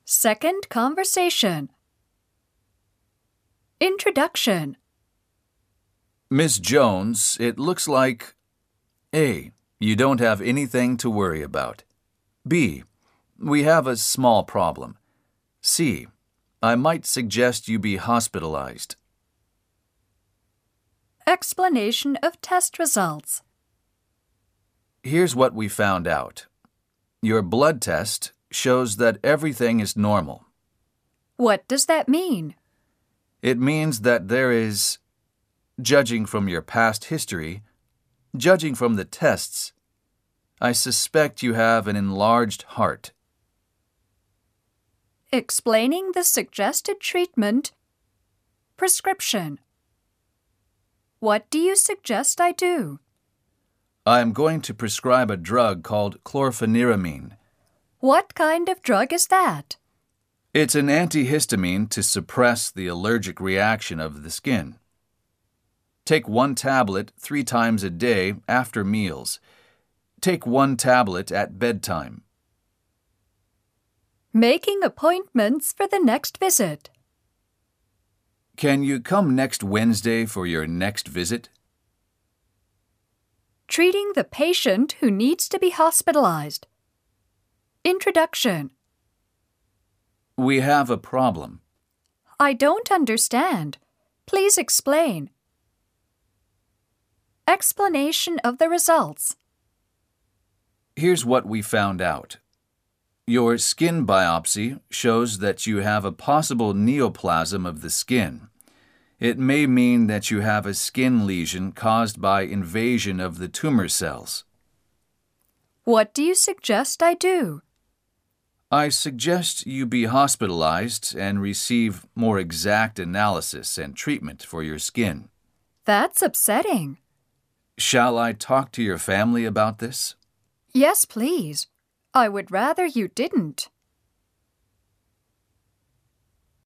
Second conversation. Introduction. Miss Jones, it looks like A. You don't have anything to worry about. B. We have a small problem. C. I might suggest you be hospitalized. Explanation of test results. Here's what we found out. Your blood test shows that everything is normal. What does that mean? It means that there is, judging from your past history, judging from the tests, I suspect you have an enlarged heart. Explaining the suggested treatment. Prescription. What do you suggest I do? I am going to prescribe a drug called chlorpheniramine. What kind of drug is that? It's an antihistamine to suppress the allergic reaction of the skin. Take 1 tablet 3 times a day after meals. Take 1 tablet at bedtime. Making appointments for the next visit. Can you come next Wednesday for your next visit? Treating the patient who needs to be hospitalized. Introduction. We have a problem. I don't understand. Please explain. Explanation of the results. Here's what we found out. Your skin biopsy shows that you have a possible neoplasm of the skin. It may mean that you have a skin lesion caused by invasion of the tumor cells. What do you suggest I do? I suggest you be hospitalized and receive more exact analysis and treatment for your skin. That's upsetting. Shall I talk to your family about this? Yes, please. I would rather you didn't.